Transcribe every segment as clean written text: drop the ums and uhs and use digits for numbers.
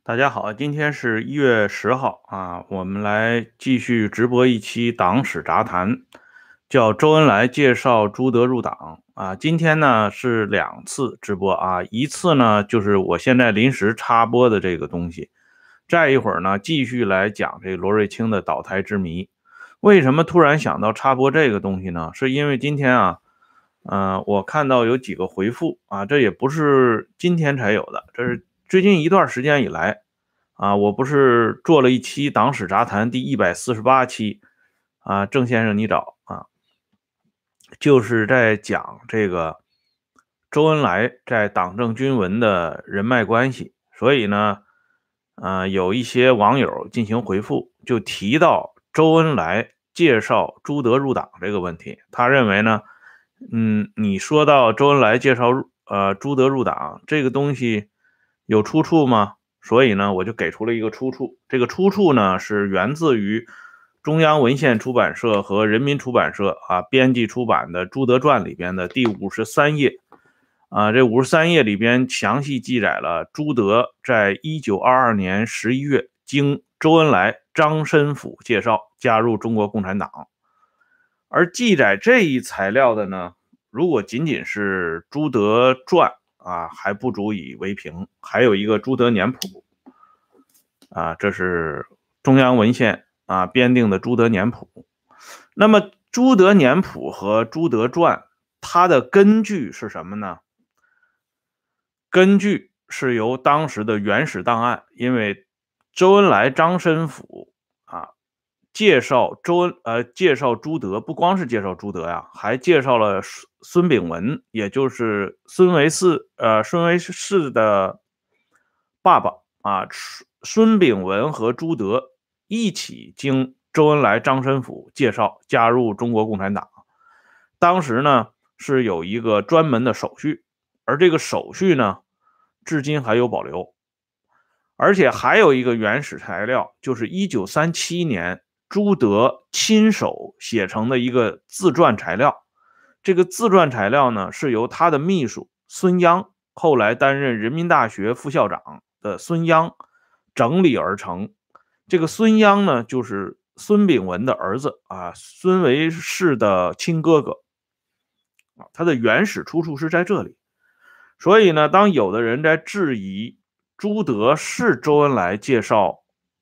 大家好，今天是1月10号啊，我们来继续直播一期党史杂谈，叫周恩来介绍朱德入党啊。今天呢是2次直播啊，一次呢就是我现在临时插播的这个东西，再一会儿呢继续来讲这个罗瑞卿的倒台之谜。为什么突然想到插播这个东西呢？是因为今天啊，我看到有几个回复啊，这也不是今天才有的，这是最近一段时间以来啊，我不是做了一期党史杂谈第148期啊，郑先生你找啊，就是在讲这个周恩来在党政军文的人脉关系，所以呢，有一些网友进行回复，就提到周恩来介绍朱德入党这个问题，他认为呢，你说到周恩来介绍朱德入党这个东西有出处吗？所以呢，我就给出了一个出处。这个出处呢是源自于中央文献出版社和人民出版社编辑出版的《朱德传》里边的第53页啊。这53页里边详细记载了朱德在1922年11月经周恩来、张申府介绍加入中国共产党。而记载这一材料的呢，如果仅仅是朱德传还不足以为凭，还有一个朱德年谱这是中央文献编定的朱德年谱。那么朱德年谱和朱德传，它的根据是什么呢？根据是由当时的原始档案，因为周恩来、张申府介绍朱德，不光是介绍朱德呀，还介绍了孙炳文，也就是孙维世的爸爸孙炳文和朱德一起经周恩来、张申府介绍加入中国共产党。当时呢是有一个专门的手续，而这个手续呢至今还有保留。而且还有一个原始材料，就是1937年朱德亲手写成的一个自传材料。这个自传材料呢，是由他的秘书孙央，后来担任人民大学副校长的孙央整理而成。这个孙央呢，就是孙炳文的儿子孙维世的亲哥哥他的原始出处是在这里。所以呢，当有的人在质疑朱德是周恩来介绍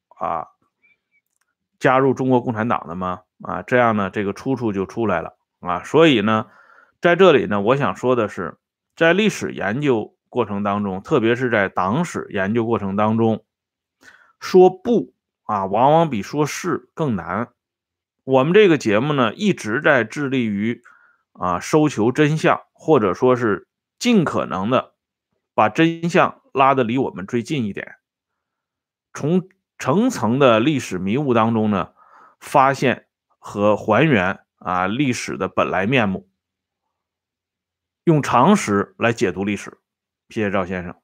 加入中国共产党的吗？这样呢，这个出处就出来了所以呢，在这里呢，我想说的是，在历史研究过程当中，特别是在党史研究过程当中，说不往往比说是更难。我们这个节目呢，一直在致力于收求真相，或者说是尽可能的把真相拉得离我们最近一点，从层层的历史迷雾当中呢，发现和还原历史的本来面目，用常识来解读历史。谢谢赵先生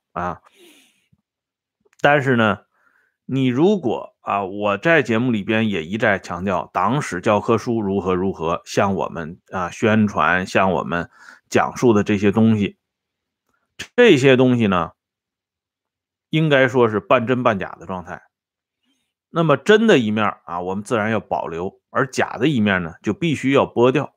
但是呢，你如果我在节目里边也一再强调，党史教科书如何如何，向我们宣传，向我们讲述的这些东西，这些东西呢，应该说是半真半假的状态。那么真的一面我们自然要保留，而假的一面呢，就必须要剥掉。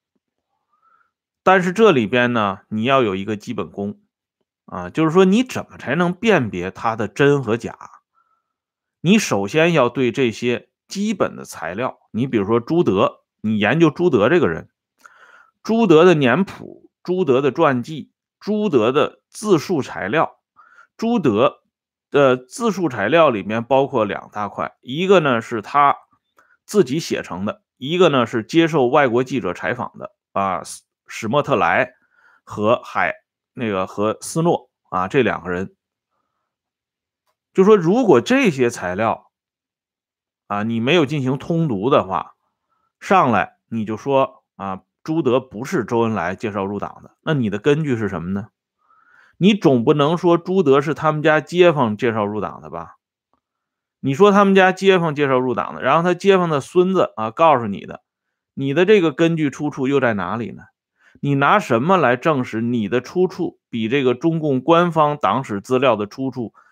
但是这里边呢，你要有一个基本功就是说你怎么才能辨别它的真和假？你首先要对这些基本的材料，你比如说朱德，你研究朱德这个人，朱德的年谱、朱德的传记、朱德的自述材料，朱德的自述材料里面包括2大块，一个呢是他自己写成的，一个呢是接受外国记者采访的史莫特莱和和斯诺这2个人。就说如果这些材料你没有进行通读的话，上来你就说朱德不是周恩来介绍入党的，那你的根据是什么呢？你总不能说朱德是他们家街坊介绍入党的吧？你说他们家街坊介绍入党的，然后他街坊的孙子告诉你的，你的这个根据出处又在哪里呢？你拿什么来证实你的出处比这个中共官方党史资料的出处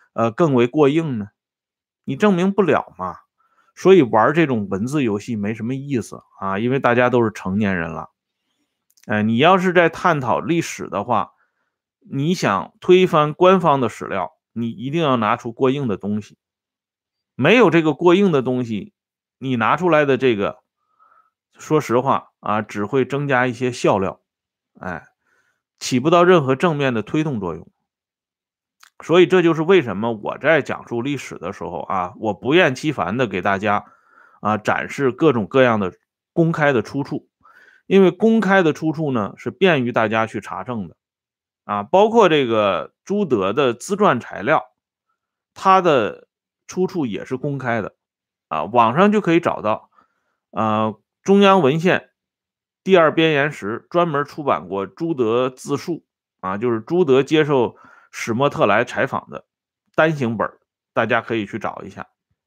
更为过硬呢？你证明不了嘛。所以玩这种文字游戏没什么意思啊，因为大家都是成年人了。你要是在探讨历史的话，你想推翻官方的史料，你一定要拿出过硬的东西。没有这个过硬的东西，你拿出来的这个，说实话啊，只会增加一些笑料，起不到任何正面的推动作用。所以这就是为什么我在讲述历史的时候啊，我不厌其烦的给大家展示各种各样的公开的出处，因为公开的出处呢是便于大家去查证的包括这个朱德的自传材料，它的出处也是公开的网上就可以找到。中央文献第二编言时专门出版过朱德自述就是朱德接受史莫特莱采访的单行本，大家可以去找一下。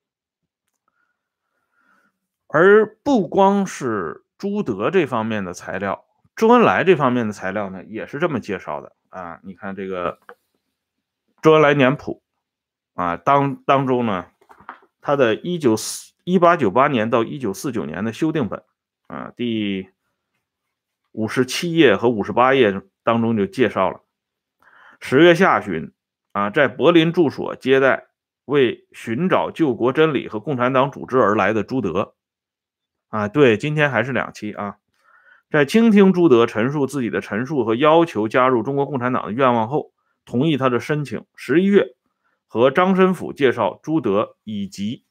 而不光是朱德这方面的材料，周恩来这方面的材料呢，也是这么介绍的你看这个周恩来年谱当中呢，他的1898年到1949年的修订本第57页和58页当中就介绍了10月下旬在柏林住所接待为寻找救国真理和共产党组织而来的朱德对，今天还是2期在倾听朱德陈述自己的陈述和要求加入中国共产党的愿望后，同意他的申请。11月和张申府介绍朱德以及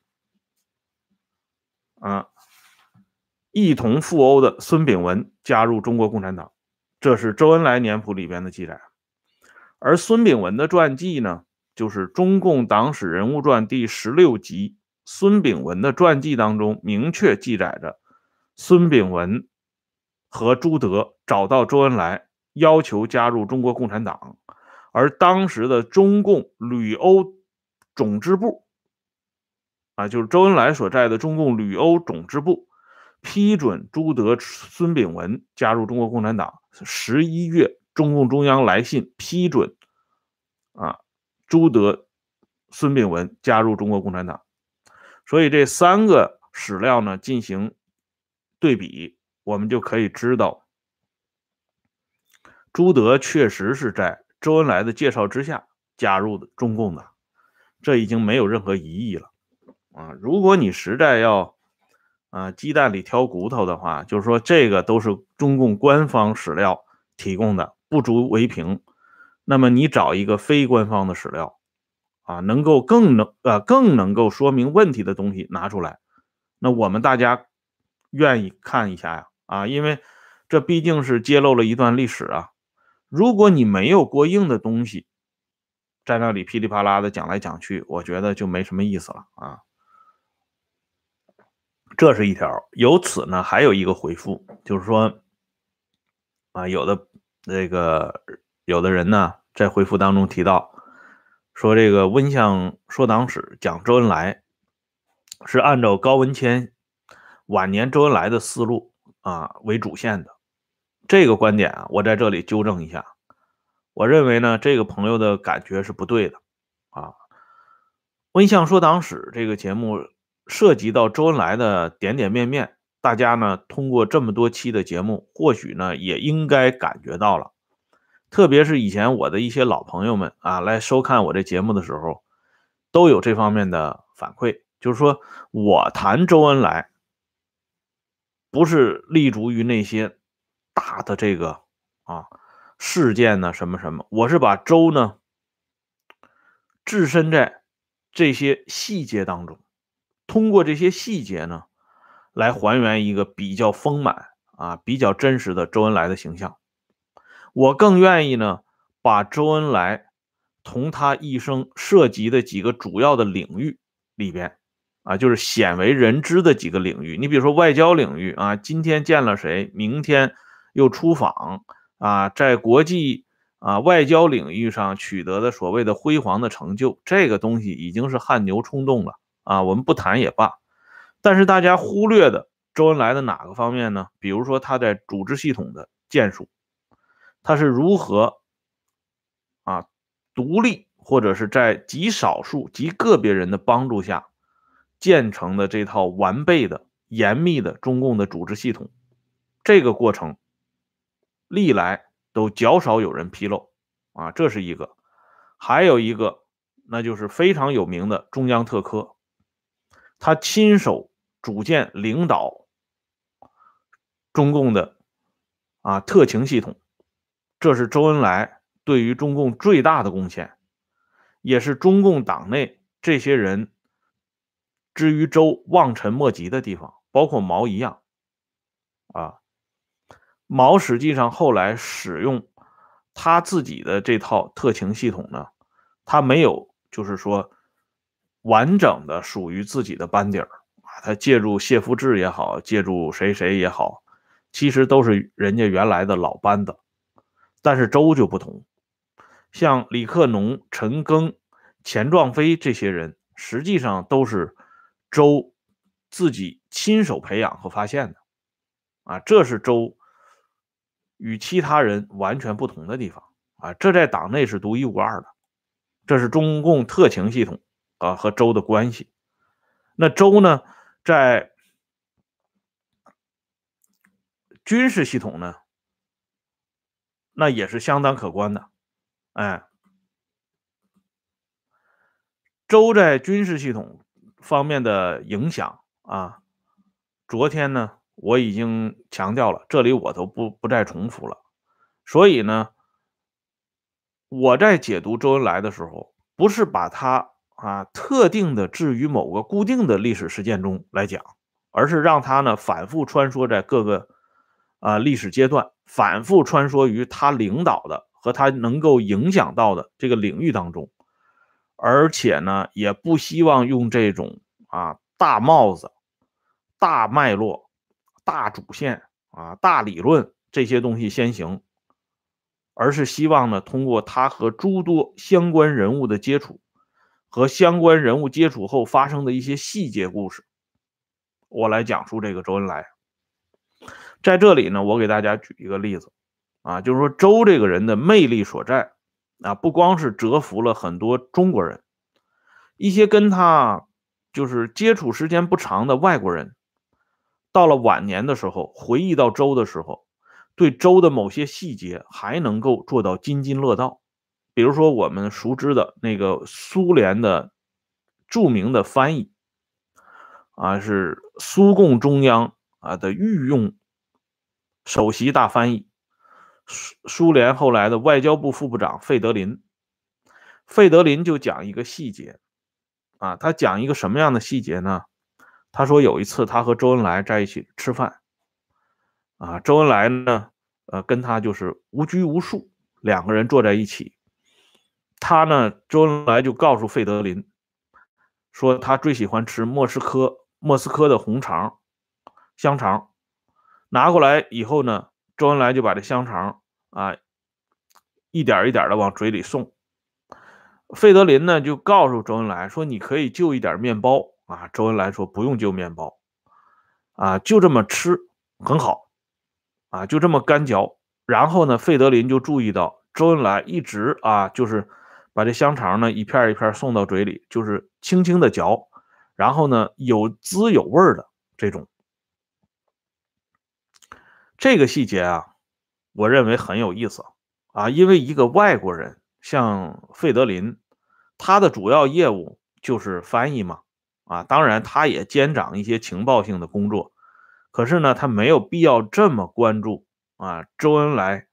一同赴欧的孙炳文加入中国共产党，这是周恩来年谱里边的记载。而孙炳文的传记呢，就是中共党史人物传第16集。孙炳文的传记当中明确记载着孙炳文和朱德找到周恩来，要求加入中国共产党，而当时的中共旅欧总支部就是周恩来所在的中共旅欧总支部批准朱德、孙炳文加入中国共产党。11月，中共中央来信批准朱德、孙炳文加入中国共产党。所以这3个史料呢进行对比，我们就可以知道，朱德确实是在周恩来的介绍之下加入的中共的，这已经没有任何疑义了如果你实在要鸡蛋里挑骨头的话，就是说这个都是中共官方史料提供的，不足为凭。那么你找一个非官方的史料能够更能够说明问题的东西拿出来，那我们大家愿意看一下因为这毕竟是揭露了一段历史如果你没有过硬的东西，在那里噼里啪啦的讲来讲去，我觉得就没什么意思了这是一条。由此呢，还有一个回复，就是说有的人呢在回复当中提到说，这个温相说党史讲周恩来是按照高文谦晚年周恩来的思路为主线的。这个观点我在这里纠正一下，我认为呢这个朋友的感觉是不对的温相说党史这个节目涉及到周恩来的点点面面，大家呢通过这么多期的节目，或许呢也应该感觉到了。特别是以前我的一些老朋友们来收看我这节目的时候，都有这方面的反馈，就是说我谈周恩来不是立足于那些大的这个事件呢什么什么，我是把周呢置身在这些细节当中，通过这些细节呢来还原一个比较丰满比较真实的周恩来的形象。我更愿意呢把周恩来同他一生涉及的几个主要的领域里边就是鲜为人知的几个领域。你比如说外交领域今天见了谁，明天又出访在国际外交领域上取得的所谓的辉煌的成就，这个东西已经是汗牛充栋了我们不谈也罢。但是大家忽略的周恩来的哪个方面呢？比如说他在组织系统的建树，他是如何独立或者是在极少数极个别人的帮助下建成的这套完备的严密的中共的组织系统，这个过程历来都较少有人披露啊，这是一个。还有一个，那就是非常有名的中央特科，他亲手组建领导中共的特情系统，这是周恩来对于中共最大的贡献，也是中共党内这些人至于周望尘莫及的地方，包括毛一样啊。毛实际上后来使用他自己的这套特情系统呢，他没有就是说完整的属于自己的班底儿啊，他借助谢福治也好，借助谁谁也好，其实都是人家原来的老班子。但是周就不同，像李克农、陈赓、钱壮飞这些人，实际上都是周自己亲手培养和发现的啊，这是周与其他人完全不同的地方啊，这在党内是独一无二的。这是中共特情系统和周的关系。那周呢，在军事系统呢，那也是相当可观的。哎，周在军事系统方面的影响啊，昨天呢我已经强调了，这里我都不再重复了。所以呢，我在解读周恩来的时候，不是把他特定的置于某个固定的历史事件中来讲，而是让他呢反复穿梭在各个历史阶段，反复穿梭于他领导的和他能够影响到的这个领域当中，而且呢也不希望用这种大帽子、大脉络、大主线大理论这些东西先行，而是希望呢通过他和诸多相关人物的接触和相关人物接触后发生的一些细节故事，我来讲述这个周恩来。在这里呢，我给大家举一个例子就是说周这个人的魅力所在不光是折服了很多中国人，一些跟他就是接触时间不长的外国人，到了晚年的时候回忆到周的时候，对周的某些细节还能够做到津津乐道。比如说我们熟知的那个苏联的著名的翻译是苏共中央的御用首席大翻译，苏联后来的外交部副部长费德林。费德林就讲一个细节他讲一个什么样的细节呢？他说有一次他和周恩来在一起吃饭周恩来呢跟他就是无拘无束，两个人坐在一起。他呢，周恩来就告诉费德林说他最喜欢吃莫斯科的红肠香肠，拿过来以后呢，周恩来就把这香肠一点一点的往嘴里送。费德林呢就告诉周恩来说你可以就一点面包周恩来说不用就面包就这么吃很好就这么干嚼。然后呢，费德林就注意到周恩来一直就是把这香肠呢一片一片送到嘴里，就是轻轻的嚼，然后呢有滋有味的这种。这个细节我认为很有意思因为一个外国人像费德林，他的主要业务就是翻译嘛当然他也兼掌一些情报性的工作，可是呢他没有必要这么关注周恩来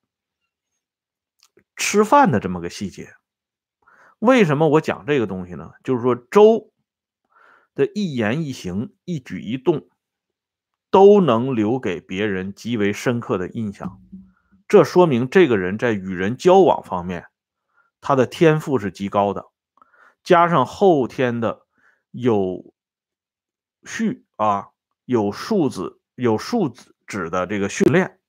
吃饭的这么个细节。为什么我讲这个东西呢？就是说周的一言一行一举一动都能留给别人极为深刻的印象，这说明这个人在与人交往方面他的天赋是极高的，加上后天的有序有素质的这个训练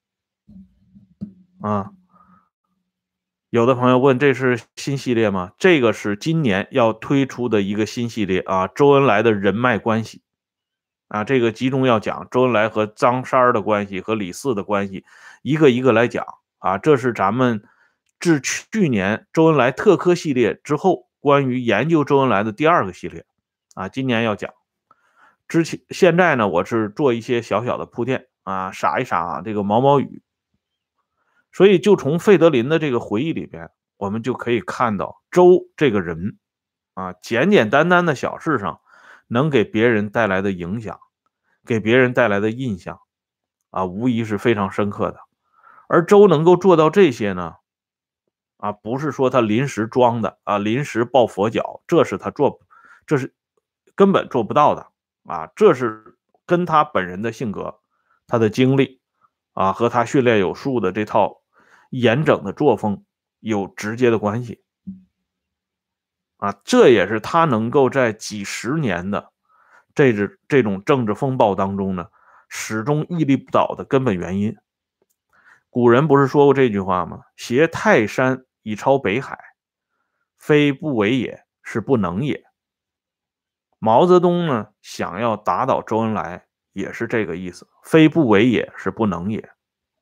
有的朋友问这是新系列吗？这个是今年要推出的一个新系列周恩来的人脉关系这个集中要讲周恩来和张三的关系和李四的关系，一个一个来讲这是咱们自去年周恩来特科系列之后关于研究周恩来的第2个系列啊，今年要讲。现在呢，我是做一些小小的铺垫啊，撒一撒这个毛毛雨。所以就从费德林的这个回忆里边，我们就可以看到周这个人啊，简简单单的小事上能给别人带来的影响，给别人带来的印象啊，无疑是非常深刻的。而周能够做到这些呢，啊，不是说他临时装的啊，临时抱佛脚，这是根本做不到的啊，这是跟他本人的性格、他的经历啊和他训练有素的这套严整的作风有直接的关系啊，这也是他能够在几十年的这种政治风暴当中呢，始终屹立不倒的根本原因。古人不是说过这句话吗？挟泰山以超北海，非不为也，是不能也。毛泽东呢，想要打倒周恩来，也是这个意思，非不为也，是不能也。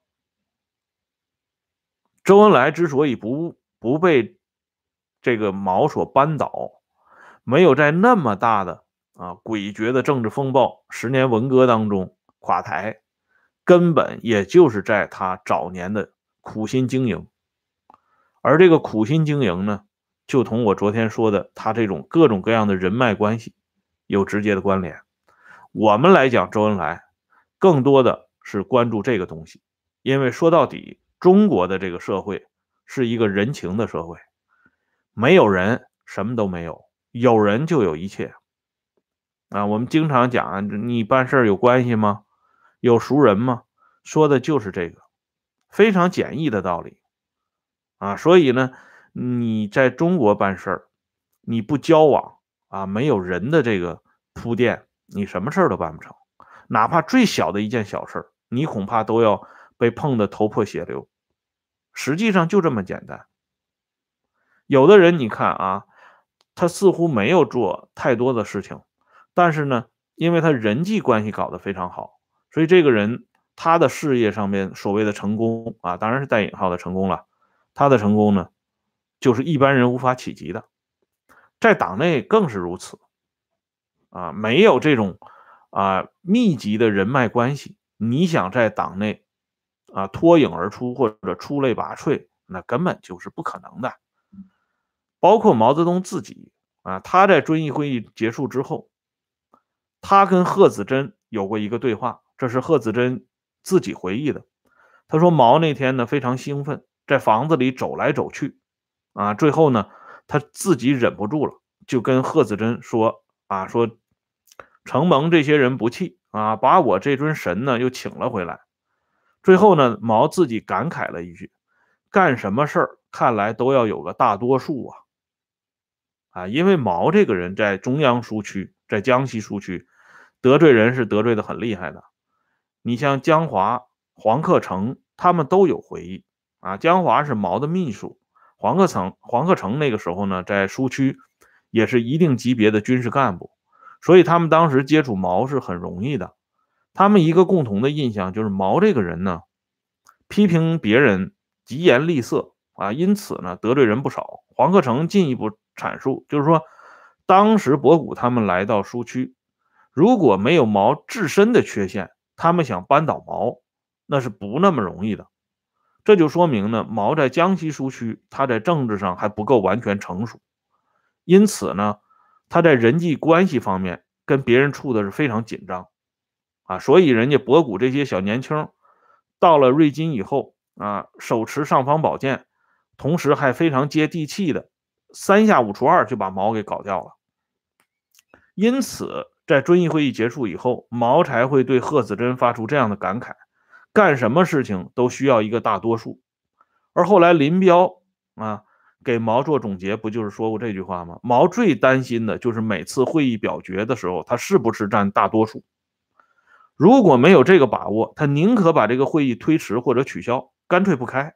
周恩来之所以不被这个毛所扳倒，没有在那么大的诡谲的政治风暴10年文革当中垮台，根本也就是在他早年的苦心经营。而这个苦心经营呢，就同我昨天说的他这种各种各样的人脉关系有直接的关联。我们来讲周恩来，更多的是关注这个东西，因为说到底，中国的这个社会是一个人情的社会，没有人什么都没有，有人就有一切啊。我们经常讲，你办事有关系吗？有熟人吗？说的就是这个非常简易的道理啊。所以呢，你在中国办事儿，你不交往啊，没有人的这个铺垫，你什么事儿都办不成。哪怕最小的一件小事，你恐怕都要被碰得头破血流。实际上就这么简单。有的人你看啊，他似乎没有做太多的事情，但是呢，因为他人际关系搞得非常好，所以这个人他的事业上面所谓的成功啊，当然是带引号的成功了。他的成功呢，就是一般人无法企及的，在党内更是如此啊，没有这种密集的人脉关系，你想在党内脱颖而出或者出类拔萃，那根本就是不可能的。包括毛泽东自己啊，他在遵义会议结束之后，他跟贺子珍有过一个对话，这是贺子珍自己回忆的。他说毛那天呢非常兴奋，在房子里走来走去啊，最后呢他自己忍不住了，就跟贺子珍说说承蒙这些人不弃啊，把我这尊神呢又请了回来。最后呢，毛自己感慨了一句：干什么事儿看来都要有个大多数因为毛这个人在中央苏区，在江西苏区得罪人是得罪的很厉害的。你像江华、黄克诚，他们都有回忆江华是毛的秘书，黄克诚那个时候呢，在苏区也是一定级别的军事干部，所以他们当时接触毛是很容易的。他们一个共同的印象就是毛这个人呢，批评别人疾言厉色因此呢得罪人不少。黄克诚进一步阐述，就是说，当时博古他们来到苏区，如果没有毛自身的缺陷，他们想扳倒毛，那是不那么容易的。这就说明呢，毛在江西苏区，他在政治上还不够完全成熟，因此呢，他在人际关系方面跟别人处的是非常紧张所以人家博古这些小年轻到了瑞金以后手持尚方宝剑，同时还非常接地气的3下5除2就把毛给搞掉了。因此在遵义会议结束以后，毛才会对贺子珍发出这样的感慨，干什么事情都需要一个大多数。而后来林彪给毛做总结，不就是说过这句话吗？毛最担心的就是每次会议表决的时候，他是不是占大多数。如果没有这个把握，他宁可把这个会议推迟或者取消，干脆不开。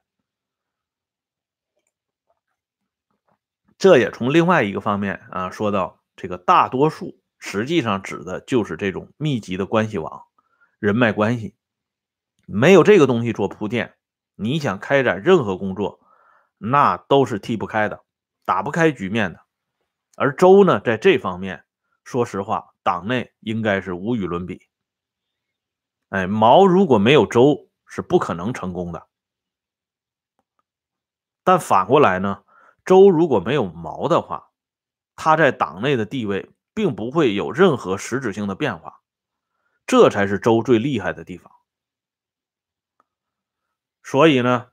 这也从另外一个方面说到这个大多数实际上指的就是这种密集的关系网、人脉关系。没有这个东西做铺垫，你想开展任何工作，那都是踢不开的，打不开局面的。 而周呢，在这方面，说实话，党内应该是无与伦比。哎，毛如果没有周，是不可能成功的。但反过来呢，周如果没有毛的话，他在党内的地位并不会有任何实质性的变化，这才是周最厉害的地方。所以呢，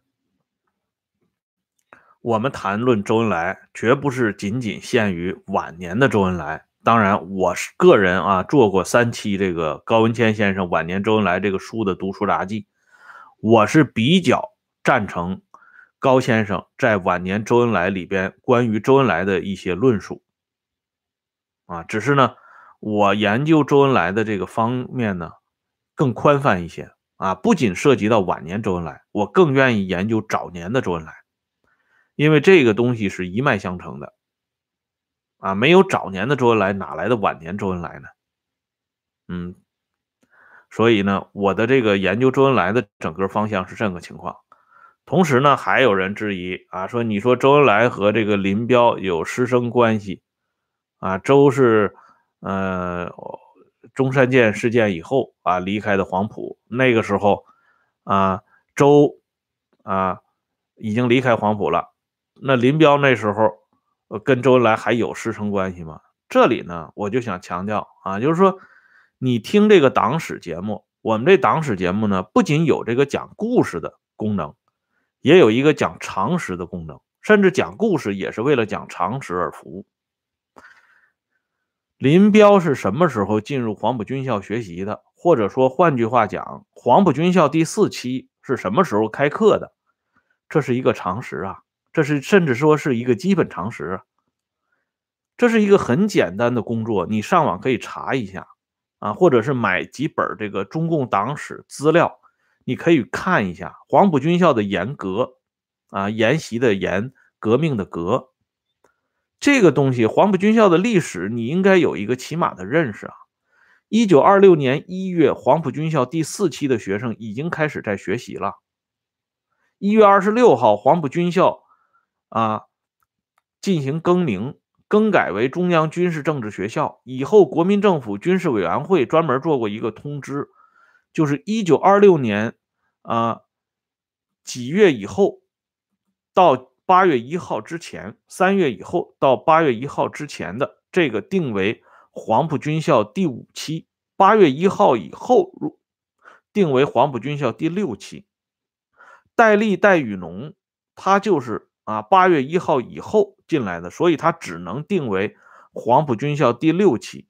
我们谈论周恩来，绝不是仅仅限于晚年的周恩来。当然，我是个人做过3期这个高文谦先生晚年周恩来这个书的读书札记，我是比较赞成高先生在晚年周恩来里边关于周恩来的一些论述只是呢，我研究周恩来的这个方面呢更宽泛一些不仅涉及到晚年周恩来，我更愿意研究早年的周恩来，因为这个东西是一脉相承的没有早年的周恩来，哪来的晚年周恩来呢？嗯，所以呢，我的这个研究周恩来的整个方向是这个情况。同时呢，还有人质疑说你说周恩来和这个林彪有师生关系周是中山舰事件以后离开的黄埔，那个时候周已经离开黄埔了，那林彪那时候跟周恩来还有师生关系吗？这里呢，我就想强调就是说你听这个党史节目，我们这党史节目呢，不仅有这个讲故事的功能，也有一个讲常识的功能，甚至讲故事也是为了讲常识而服务。林彪是什么时候进入黄埔军校学习的？或者说换句话讲，黄埔军校第4期是什么时候开课的？这是一个常识这是甚至说是一个基本常识这是一个很简单的工作，你上网可以查一下或者是买几本这个中共党史资料，你可以看一下黄埔军校的沿革沿袭的沿，革命的革。这个东西，黄埔军校的历史你应该有一个起码的认识1926年1月，黄埔军校第4期的学生已经开始在学习了。1月26号，黄埔军校进行更名，更改为中央军事政治学校。以后国民政府军事委员会专门做过一个通知，就是1926年几月以后到8月1号之前，3月以后到8月1号之前的这个定为黄埔军校第5期，8月1号以后定为黄埔军校第6期。戴笠、戴雨农他就是8月1号以后进来的，所以他只能定为黄埔军校第6期。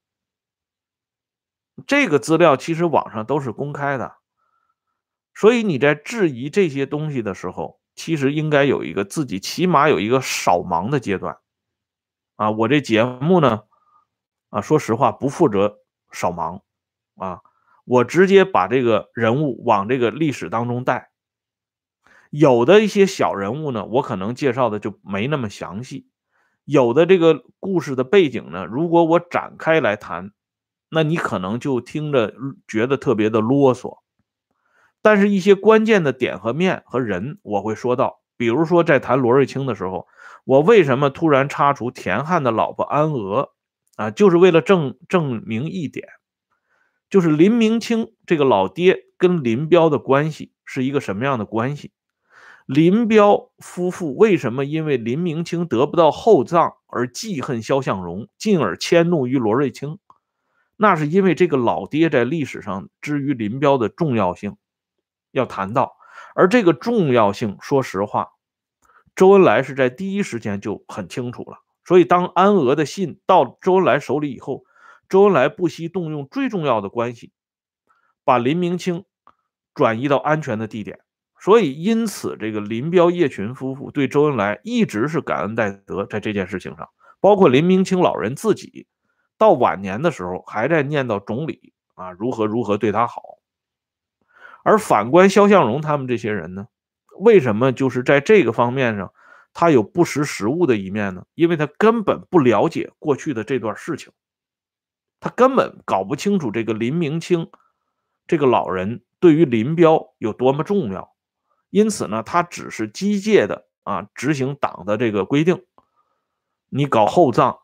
这个资料其实网上都是公开的，所以你在质疑这些东西的时候，其实应该有一个自己起码有一个扫盲的阶段我这节目呢说实话不负责扫盲我直接把这个人物往这个历史当中带。有的一些小人物呢，我可能介绍的就没那么详细，有的这个故事的背景呢，如果我展开来谈，那你可能就听着觉得特别的啰嗦。但是一些关键的点和面和人我会说到，比如说在谈罗瑞卿的时候，我为什么突然插除田汉的老婆安娥就是为了证明一点，就是林明清这个老爹跟林彪的关系是一个什么样的关系。林彪夫妇为什么因为林明清得不到厚葬而记恨萧向荣，进而迁怒于罗瑞卿？那是因为这个老爹在历史上之于林彪的重要性要谈到，而这个重要性，说实话，周恩来是在第一时间就很清楚了。所以当安娥的信到周恩来手里以后，周恩来不惜动用最重要的关系，把林明清转移到安全的地点。所以因此这个林彪叶群夫妇对周恩来一直是感恩戴德，在这件事情上，包括林明清老人自己到晚年的时候还在念叨总理如何如何对他好。而反观萧向荣他们这些人呢，为什么就是在这个方面上他有不识时务的一面呢？因为他根本不了解过去的这段事情，他根本搞不清楚这个林明清这个老人对于林彪有多么重要。因此呢，他只是机械的执行党的这个规定，你搞厚葬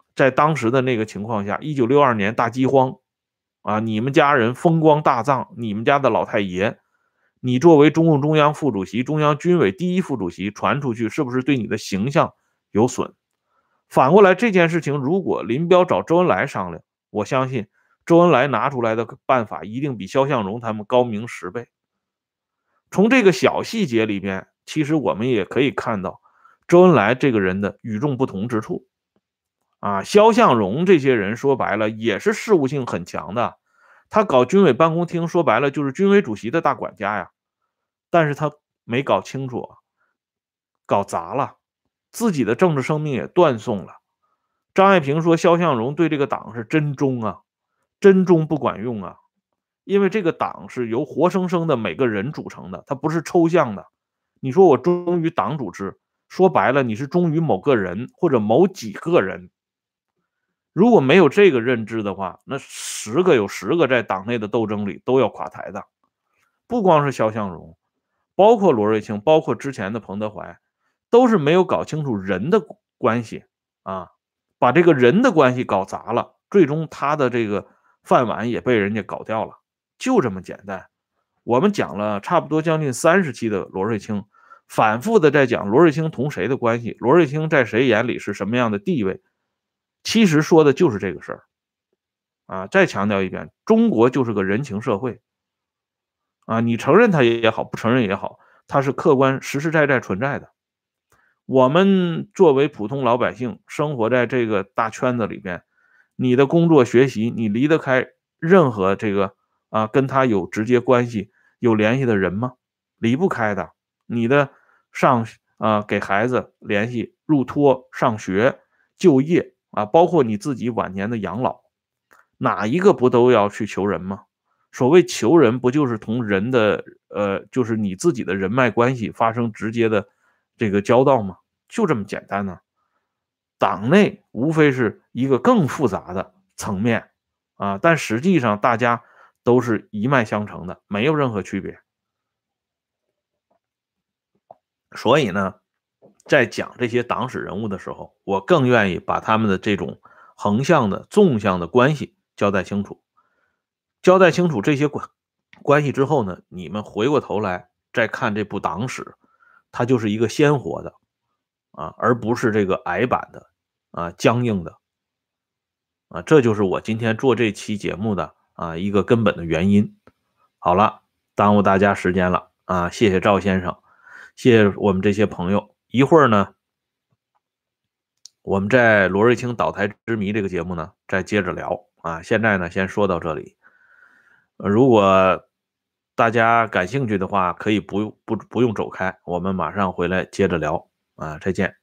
在当时的那个情况下，1962年大饥荒啊，你们家人风光大葬，你们家的老太爷，你作为中共中央副主席、中央军委第一副主席传出去，是不是对你的形象有损？反过来，这件事情如果林彪找周恩来商量，我相信周恩来拿出来的办法一定比肖像荣他们高明10倍。从这个小细节里边，其实我们也可以看到周恩来这个人的与众不同之处。肖像荣这些人说白了也是事务性很强的，他搞军委办公厅说白了就是军委主席的大管家呀，但是他没搞清楚，搞砸了，自己的政治生命也断送了。张爱萍说肖像荣对这个党是真忠啊，真忠不管用啊，因为这个党是由活生生的每个人组成的，它不是抽象的。你说我忠于党组织，说白了你是忠于某个人或者某几个人。如果没有这个认知的话，那10个有10个在党内的斗争里都要垮台的。不光是肖像荣，包括罗瑞卿，包括之前的彭德怀，都是没有搞清楚人的关系啊，把这个人的关系搞砸了，最终他的这个饭碗也被人家搞掉了，就这么简单。我们讲了差不多将近30期的罗瑞卿，反复的在讲罗瑞卿同谁的关系，罗瑞卿在谁眼里是什么样的地位，其实说的就是这个事儿啊。再强调一遍，中国就是个人情社会啊，你承认它也好，不承认也好，它是客观实实在在存在的。我们作为普通老百姓，生活在这个大圈子里边，你的工作学习，你离得开任何这个跟他有直接关系、有联系的人吗？离不开的。你的给孩子联系、入托、上学、就业包括你自己晚年的养老，哪一个不都要去求人吗？所谓求人，不就是同人的就是你自己的人脉关系发生直接的这个交道吗？就这么简单呢。党内无非是一个更复杂的层面但实际上大家都是一脉相承的，没有任何区别。所以呢，在讲这些党史人物的时候，我更愿意把他们的这种横向的、纵向的关系交代清楚。交代清楚这些关系之后呢，你们回过头来再看这部党史，它就是一个鲜活的而不是这个矮板的僵硬的这就是我今天做这期节目的一个根本的原因。好了，耽误大家时间了谢谢赵先生，谢谢我们这些朋友。一会儿呢，我们在罗瑞卿倒台之谜这个节目呢，再接着聊现在呢，先说到这里。如果大家感兴趣的话，可以不用走开，我们马上回来接着聊再见。